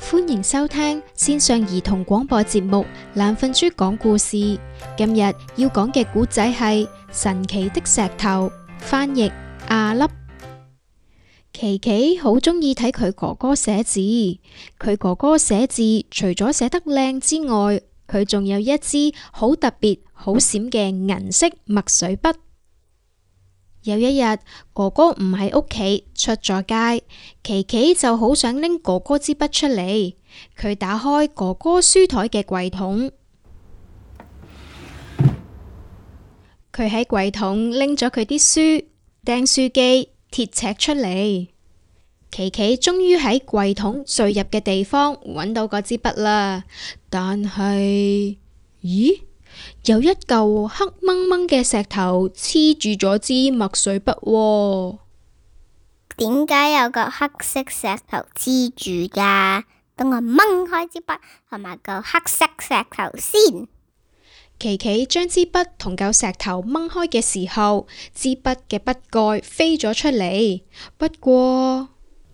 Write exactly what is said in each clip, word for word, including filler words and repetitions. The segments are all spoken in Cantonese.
歡迎收聽線上兒童廣播節目《懶瞓豬講故事》。今日要講嘅故仔係神奇的石頭，翻譯阿粒。琪琪好鍾意睇佢哥哥寫字，佢哥哥寫字除咗寫得靚之外，佢仲有一支好特別、好閃嘅銀色墨水筆。有一日，哥哥唔喺屋企，出咗街，琪琪就好想拎哥哥支筆出嚟。佢打開哥哥書台嘅櫃桶，佢喺櫃桶拎咗佢啲書、訂書機、鐵尺出嚟。琪琪終於喺櫃桶最入嘅地方揾到嗰支筆啦，但係，咦？有一嚿黑掹掹嘅石頭黐住咗支墨水筆喎。 點解有個黑色石頭黐住噶？等我掹開支筆同埋嚿黑色石頭先。 琪琪將支筆同嚿石頭掹開嘅時候，支筆嘅筆蓋飛咗出嚟。不過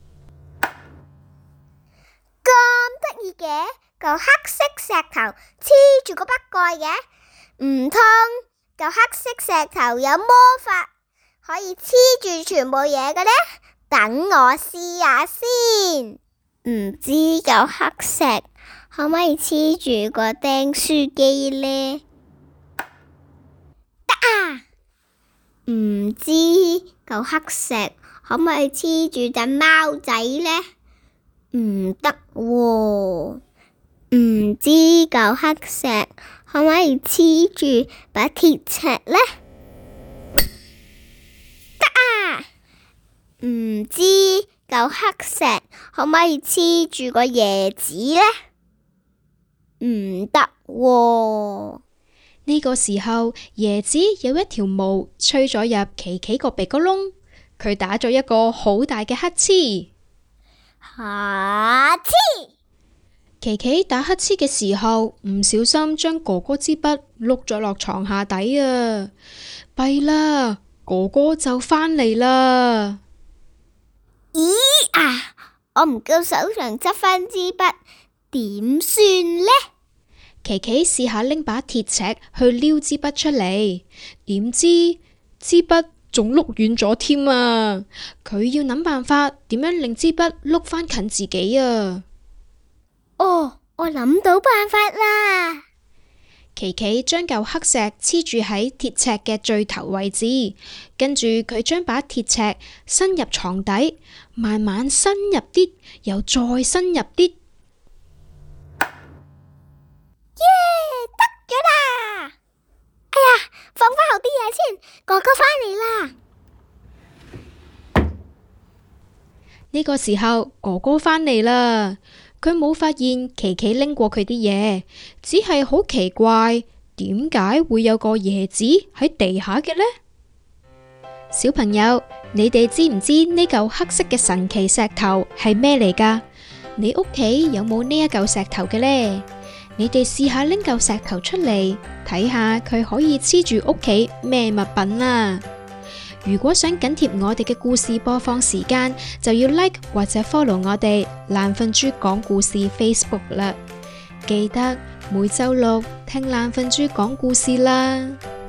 咁得意嘅，嚿黑色石頭黐住個筆蓋嘅。唔通嚿黑色石頭有魔法，可以黐住全部嘢嘅呢？等我試下先。唔知嚿黑石可唔可以黐住個釘書機呢？得啊！唔知嚿黑石可唔可以黐住隻貓仔呢？唔得喎。唔知嚿黑石可唔可以黐住把鐵尺呢？得啊！唔知嚿黑石可唔可以黐住個椰子呢？唔得喎。 呢個時候，椰子有一條毛吹咗入琪琪個鼻哥窿，佢打咗一個好大嘅乞嗤。 哈嗤！ 琪琪打乞嗤嘅時候，唔小心將哥哥支筆碌咗落床下底啊！弊啦，哥哥就返嚟啦！ 咦啊！我唔夠手上執返支筆，點算呢？ 琪琪試下拎把鐵尺去撩支筆出嚟，點知支筆仲碌遠咗添啊！佢要諗辦法點樣令支筆碌返近自己啊！ 哦，我諗到辦法啦！ 琪琪將嚿黑石黐住喺鐵尺嘅最頭位置，跟住佢將把鐵尺伸入床底，慢慢伸入啲，又再伸入啲。 耶！得咗啦！哎呀，放返好啲嘢先，哥哥返嚟啦！ 呢個時候，哥哥返嚟啦。佢冇發現琪琪拎過佢啲嘢，只係好奇怪，點解會有個椰子喺地下嘅呢？小朋友，你哋知唔知呢嚿黑色嘅神奇石頭係咩嚟㗎？你屋企有冇呢一嚿石頭嘅呢？你哋試下拎嚿石頭出嚟，睇下佢可以黐住屋企咩物品啦。如果想緊貼我哋嘅故事播放時間，就要 like 或者 follow 我哋懶瞓豬講故事 Facebook 啦。記得每周六聽懶瞓豬講故事啦。